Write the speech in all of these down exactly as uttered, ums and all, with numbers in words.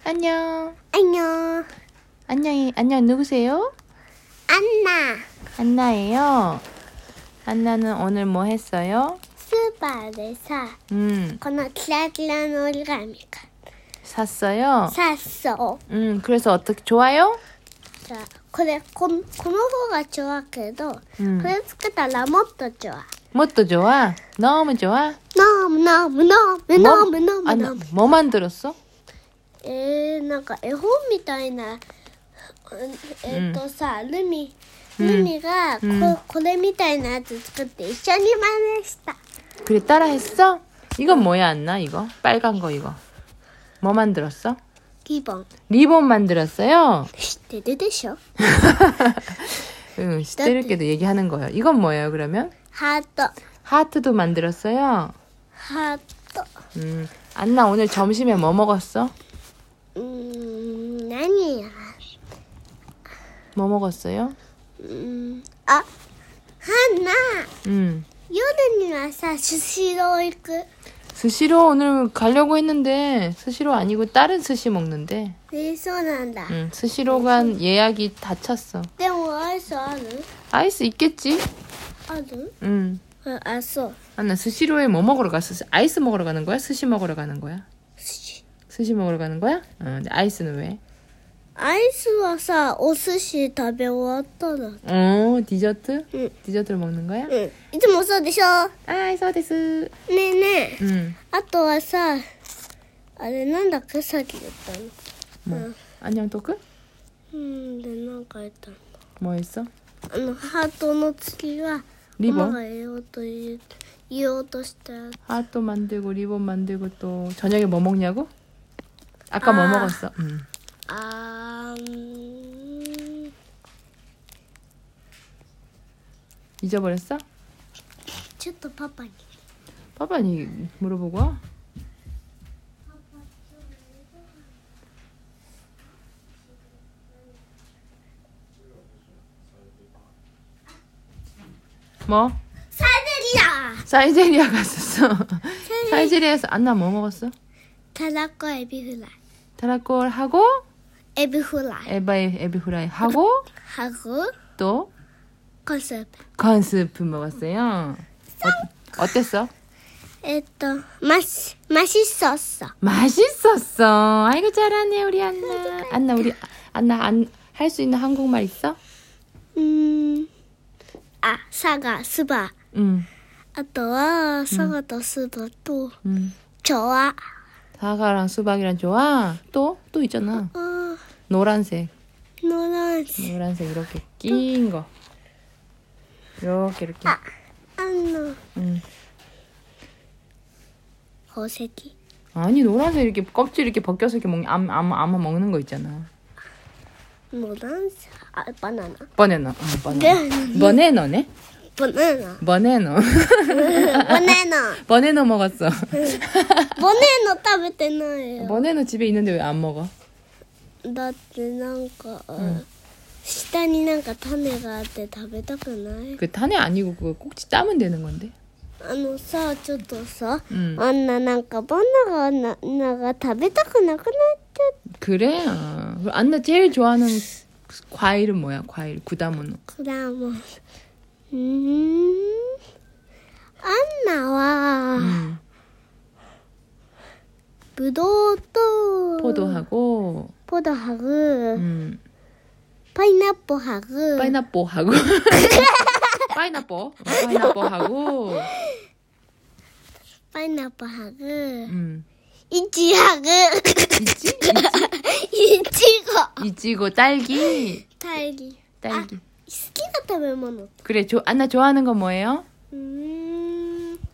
안녕. 안녕. 안녕히, 안녕, 누구세요? 안나. 안나예요. 안나는 오늘 뭐 했어요? 스바에서 음, このキラキラの折り紙が 샀어요. 샀어. 음, 그래서 어떻게, 좋아요? さこれこのこの方が좋아けど、 음, これつけたらもっと좋아. 뭣도 좋아? 너무 좋아? 너무 너무 너무 뭐? 너무 너무 아, 너무. 뭐 만들었어? えー、なんか絵本みたいな、えー、っとさ、ルミルミがこ、 うんこれみたいなやつ作って一緒に真似した。 그래, 따라 했어? 이건 뭐야, 안나, 이거? 빨간 거, 이거. 뭐 만들었어? リボン 리본 만들었어요? 知ってるでしょ。 응, 시대를께도 얘기하는 거예요. 이건 뭐예요, 그러면? ハート 하트도 만들었어요? ハート 음, 안나 오늘 점심에 뭐 먹었어? うーん何や 뭐 먹었어요? うーんあハンナ 음, 夜にはさスシロー行く。 스시로 오늘 가려고 했는데 스시로 아니고 다른 스시 먹는데 えー、そうなんだ。 음, 스시로가 예약이 다 찼어. でもアイスある 아이스 있겠지? ある 음. ああそう 안나 스시로에 뭐 먹으러 갔어? 아이스 먹으러 가는 거야? 스시 먹으러 가는 거야? 寿司 스시 먹으러 가는 거야? 어, 근데 아이스는 왜? アイスはさお寿司食べ終わったら。 어, 디저트? 응. 디저트를 먹는 거야? うんいつもそうでしょ。 아이, 소데스. ねえねえ 음. あとはさあれなんだっけさっき言ったの。 뭐? 안녕 토크? うんでなんか言ったの。 뭐 했어? あのハートの次は 리본? ママが言おうと言う言おうとしたやつ。 하트 만들고 리본 만들고 또 저녁에 뭐 먹냐고? 아까 뭐 아. 먹었어? 음. あーん 잊어버렸어? ちょっとパパに 빠빠니 물어보고 와. 뭐? サイゼリア 사이제리아 갔었어. 사이제리아에서 안나 뭐 먹었어? たらこエビフライ 타라콜 하고 エビフライ 에바이 에비프라이 하고 ハグ 또 コンスープ 건스프 먹었어요. 어, 어땠어? えっとマシマシソッソ 맛있었어. 아이고 잘하네 우리 안나. 안나 우리 안나 안 할 수 있는 한국말 있어? うーんあサガスバ 응. あとはサガとスバと 응. チョワ 사과랑 수박이랑 좋아. 또 또 있잖아. あ 노란색. ノランス 노란색 이렇게 낀 거. 이렇게 이렇게. ああの 응. 宝石 아니 노란색 이렇게 껍질 이렇게 벗겨서 이렇게 먹 아마 아마 아마 먹는 거 있잖아. ノランスあバナナ 버네너. 어, 버네너. 버네너네? バナナ 버네너. バナナ 버네너 먹었어. ボネの食べてないよ。 버네너 집에 있는데 왜 안 먹어? だってなんか、下になんか種があって食べたくない？ 그 탄에 아니고 그거 꼭지 따면 되는 건데. あのさ、ちょっとさ、 응. あんななんかバナナがなが食べたくなくなっちゃっ 그래. 어. 그럼 안나 제일 좋아하는 과일은 뭐야? 과일 구다모노. たからもう。うーん。アンナは、 음. ぶどうと 포도하고 ポドハグ、 음. パイナップハグ、 파인애플하고 파인애플 파인애플하고 パイナップハグ、 음. イチハグ、 있지? イチゴ、 이치고 딸기 タイリ。 딸기. 好きな食べ物。 그래. 조, 안나 좋아하는 건 뭐예요? うーん。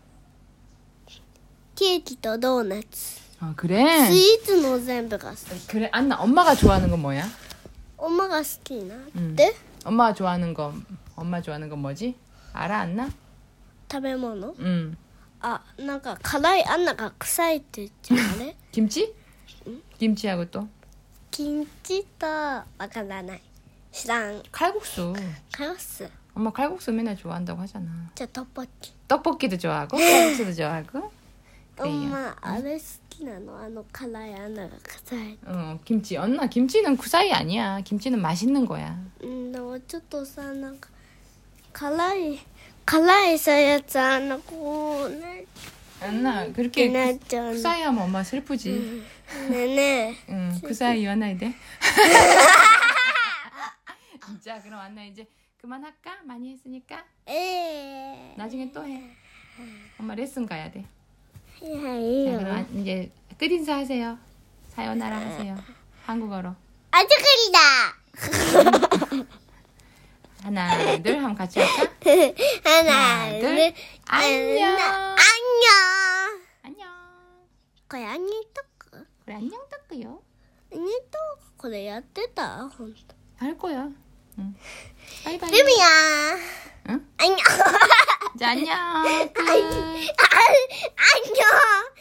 ケーキとドーナツ。 아 그래. スイーツの全部が好き。 그래. 안나 엄마가 좋아하는 건 뭐야? 엄마が好きなっ 음. て、 엄마가 좋아하는 거 엄마 좋아하는 건 뭐지? 알아 안나? 食べ物 음. あ、なんか辛い、あんなが臭いって言っちゃうあれ 김치? 김치하고 또 キンチとわからない。知らん。 칼국수. カロス。 엄마 칼국수 맨날 좋아한다고 하잖아. じゃあトッポッキ。 떡볶이도 좋아하고 칼국수도 좋아하고 그래요. 엄마 아래 스키나노 아노 카라이 하나가 쿠사이. 어, 김치. 언나 김치는 쿠사이 아니야. 김치는 맛있는 거야. 음, 나ちょっとさなんか辛い辛いさやつあのこうね 언나 그렇게 나 그, 쿠사이 하면 엄마 슬프지. 네네. 응, 쿠사이言わないで. 자, 그럼 안나 이제 그만할까? 많이 했으니까. 에. 나중에 또 해. 엄마 레슨 가야 돼. 자, 해요. 그럼 안- 이제 끝인사 하세요. 사요나라 하세요. 한국어로. 아주클이다. 하나, 둘 하면 같이 할까? 하나, 둘. 둘, 안녕. 안녕. 안녕. これアニトク 그래, 안녕 닦고요. アニトクこれやってた本当。 할 거야. 응. 바이바이. 루미야. 응? 안녕. 자, 안녕. 끝. 안녕.